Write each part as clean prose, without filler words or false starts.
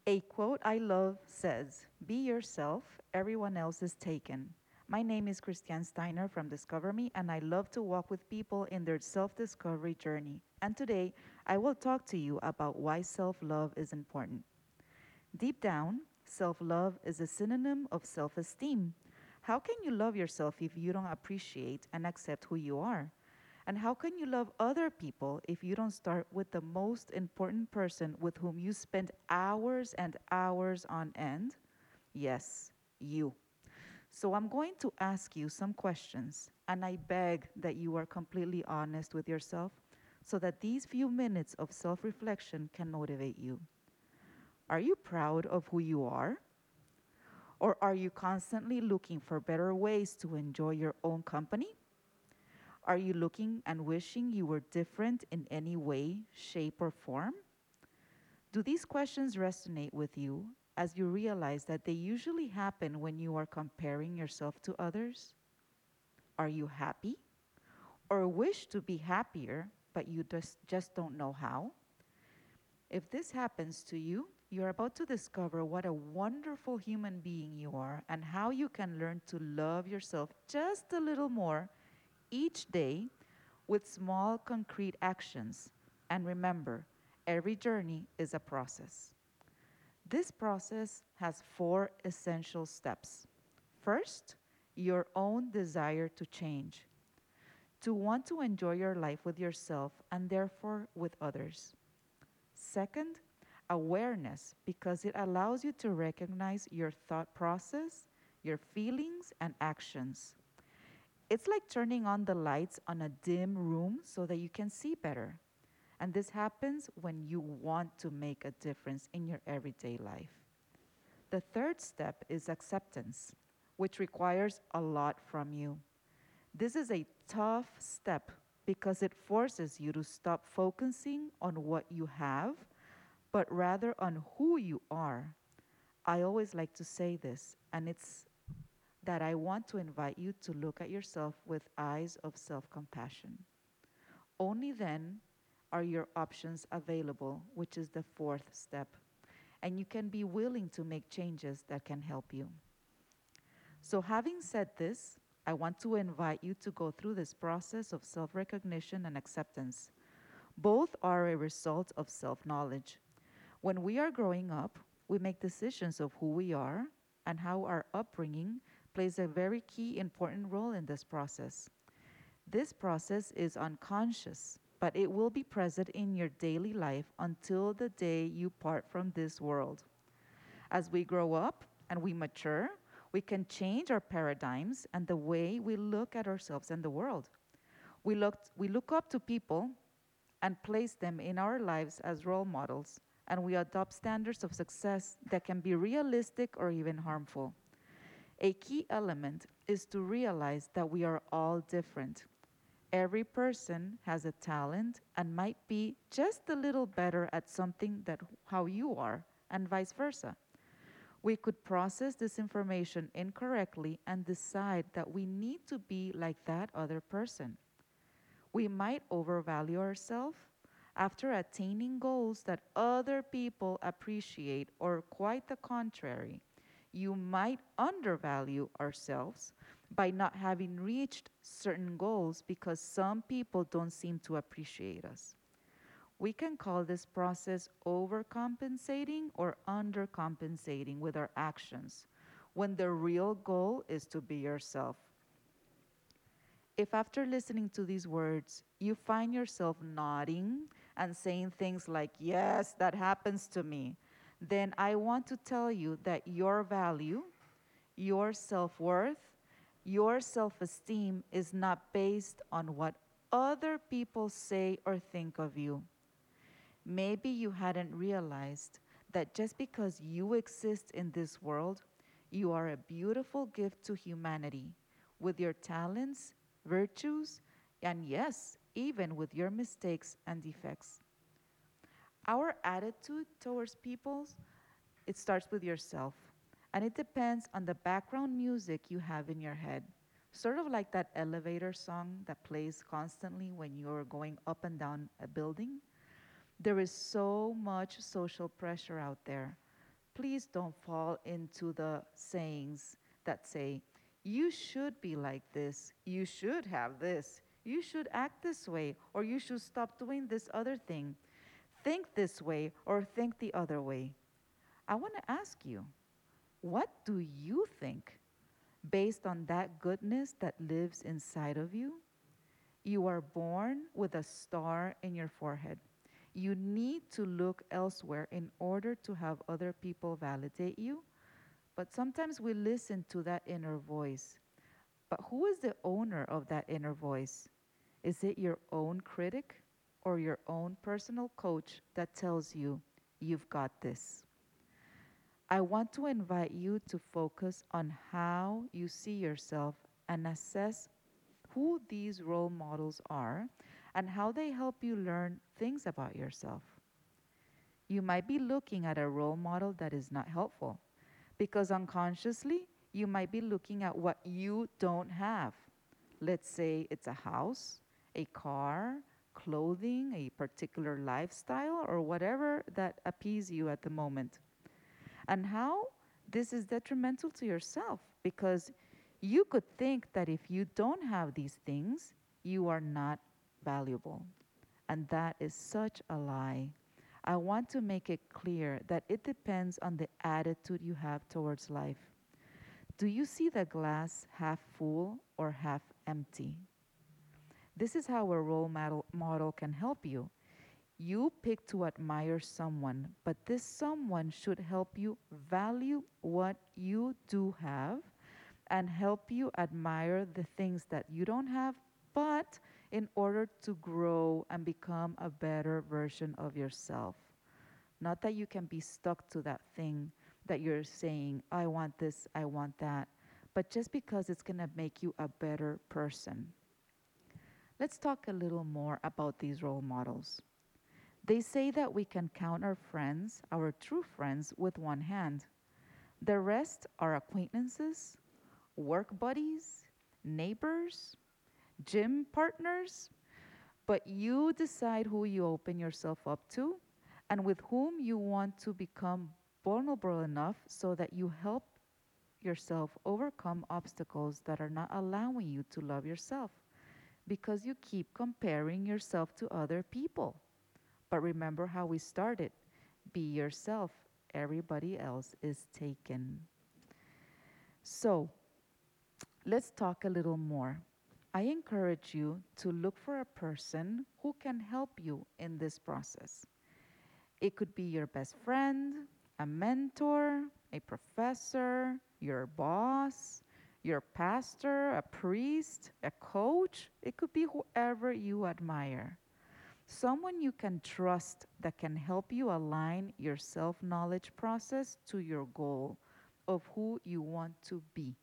A quote I love says, "Be yourself, everyone else is taken." My name is Christiane Steiner from Discover Me, and I love to walk with people in their self discovery journey. And today, I will talk to you about why self love is important. Deep down, self love is a synonym of self esteem. How can you love yourself if you don't appreciate and accept who you are? And how can you love other people if you don't start with the most important person with whom you spend hours and hours on end? Yes, you. So I'm going to ask you some questions, and I beg that you are completely honest with yourself so that these few minutes of self reflection can motivate you. Are you proud of who you are? Or are you constantly looking for better ways to enjoy your own company? Are you looking and wishing you were different in any way, shape, or form? Do these questions resonate with you as you realize that they usually happen when you are comparing yourself to others? Are you happy or wish to be happier, but you just don't know how? If this happens to you, you're about to discover what a wonderful human being you are and how you can learn to love yourself just a little more each day with small, concrete actions. And remember, every journey is a process. This process has four essential steps. First, your own desire to change, to want to enjoy your life with yourself and therefore with others. Second, awareness, because it allows you to recognize your thought process, your feelings, and actions. It's like turning on the lights on a dim room so that you can see better. And this happens when you want to make a difference in your everyday life. The third step is acceptance, which requires a lot from you. This is a tough step because it forces you to stop focusing on what you have, but rather on who you are. I always like to say this, and it's that I want to invite you to look at yourself with eyes of self compassion. Only then are your options available, which is the fourth step, and you can be willing to make changes that can help you. So, having said this, I want to invite you to go through this process of self recognition and acceptance. Both are a result of self knowledge. When we are growing up, we make decisions of who we are and how our upbringing plays a very key important role in this process. This process is unconscious, but it will be present in your daily life until the day you part from this world. As we grow up and we mature, we can change our paradigms and the way we look at ourselves and the world. We look up to people and place them in our lives as role models, and we adopt standards of success that can be realistic or even harmful. A key element is to realize that we are all different. Every person has a talent and might be just a little better at something than how you are, and vice versa. We could process this information incorrectly and decide that we need to be like that other person. We might overvalue ourselves after attaining goals that other people appreciate, or quite the contrary. You might undervalue ourselves by not having reached certain goals because some people don't seem to appreciate us. We can call this process overcompensating or undercompensating with our actions, when the real goal is to be yourself. If after listening to these words, you find yourself nodding and saying things like, "Yes, that happens to me," then I want to tell you that your value, your self worth, your self esteem is not based on what other people say or think of you. Maybe you hadn't realized that just because you exist in this world, you are a beautiful gift to humanity with your talents, virtues, and yes, even with your mistakes and defects. Our attitude towards people, it starts with yourself, and it depends on the background music you have in your head. Sort of like that elevator song that plays constantly when you're going up and down a building. There is so much social pressure out there. Please don't fall into the sayings that say, you should be like this, you should have this, you should act this way, or you should stop doing this other thing. Think this way or think the other way. I want to ask you, what do you think based on that goodness that lives inside of you? You are born with a star in your forehead. You need to look elsewhere in order to have other people validate you. But sometimes we listen to that inner voice. But who is the owner of that inner voice? Is it your own critic or your own personal coach that tells you, you've got this? I want to invite you to focus on how you see yourself and assess who these role models are and how they help you learn things about yourself. You might be looking at a role model that is not helpful because unconsciously you might be looking at what you don't have. Let's say it's a house, a car, clothing, a particular lifestyle, or whatever that appease you at the moment. And how this is detrimental to yourself because you could think that if you don't have these things, you are not valuable. And that is such a lie. I want to make it clear that it depends on the attitude you have towards life. Do you see the glass half full or half empty? This is how a role model can help you. You pick to admire someone, but this someone should help you value what you do have and help you admire the things that you don't have, but in order to grow and become a better version of yourself. Not that you can be stuck to that thing that you're saying, I want this, I want that, but just because it's going to make you a better person. Let's talk a little more about these role models. They say that we can count our friends, our true friends, with one hand. The rest are acquaintances, work buddies, neighbors, gym partners, but you decide who you open yourself up to and with whom you want to become vulnerable enough so that you help yourself overcome obstacles that are not allowing you to love yourself because you keep comparing yourself to other people. But remember how we started. Be yourself. Everybody else is taken. So let's talk a little more. I encourage you to look for a person who can help you in this process. It could be your best friend, a mentor, a professor, your boss, your pastor, a priest, a coach. It could be whoever you admire. Someone you can trust that can help you align your self knowledge process to your goal of who you want to be.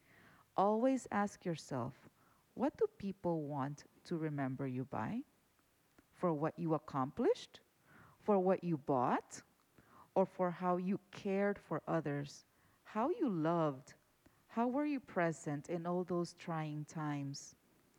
Always ask yourself, what do people want to remember you by? For what you accomplished? For what you bought? Or for how you cared for others? How you loved? How were you present in all those trying times?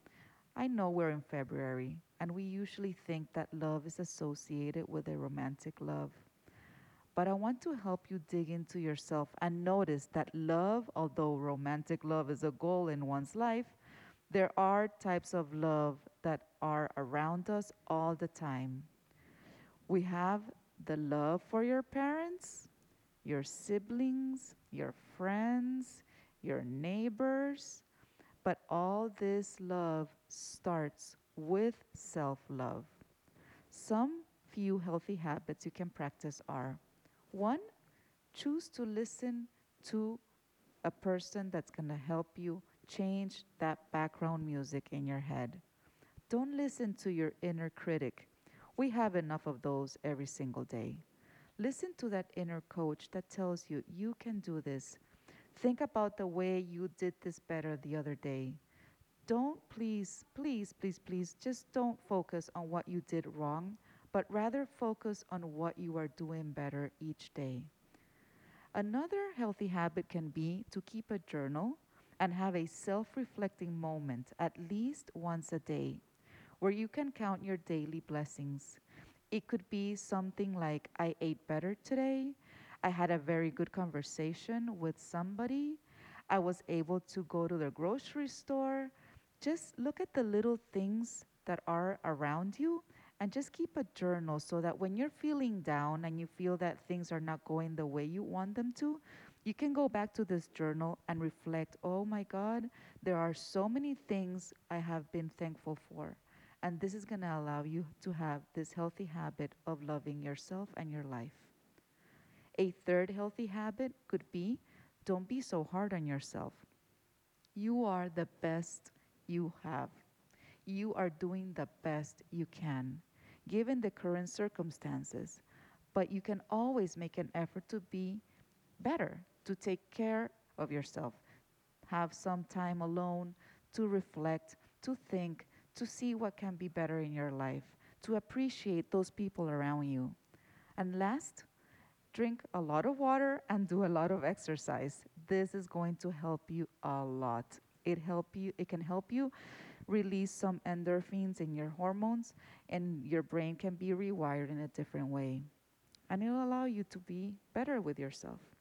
I know we're in February, and we usually think that love is associated with a romantic love. But I want to help you dig into yourself and notice that love, although romantic love is a goal in one's life, there are types of love that are around us all the time. We have the love for your parents, your siblings, your friends, your neighbors, but all this love starts with self love. Some few healthy habits you can practice are: one, choose to listen to a person that's going to help you change that background music in your head. Don't listen to your inner critic. We have enough of those every single day. Listen to that inner coach that tells you you can do this. Think about the way you did this better the other day. Don't please, please, please, please, just don't focus on what you did wrong, but rather focus on what you are doing better each day. Another healthy habit can be to keep a journal and have a self reflecting moment at least once a day where you can count your daily blessings. It could be something like, I ate better today, I had a very good conversation with somebody. I was able to go to the grocery store. Just look at the little things that are around you and just keep a journal so that when you're feeling down and you feel that things are not going the way you want them to, you can go back to this journal and reflect, oh my God, there are so many things I have been thankful for. And this is going to allow you to have this healthy habit of loving yourself and your life. A third healthy habit could be don't be so hard on yourself. You are the best you have. You are doing the best you can, given the current circumstances. But you can always make an effort to be better, to take care of yourself. Have some time alone to reflect, to think, to see what can be better in your life, to appreciate those people around you. And last, drink a lot of water and do a lot of exercise. This is going to help you a lot. It can help you release some endorphins in your hormones and your brain can be rewired in a different way. And it'll allow you to be better with yourself.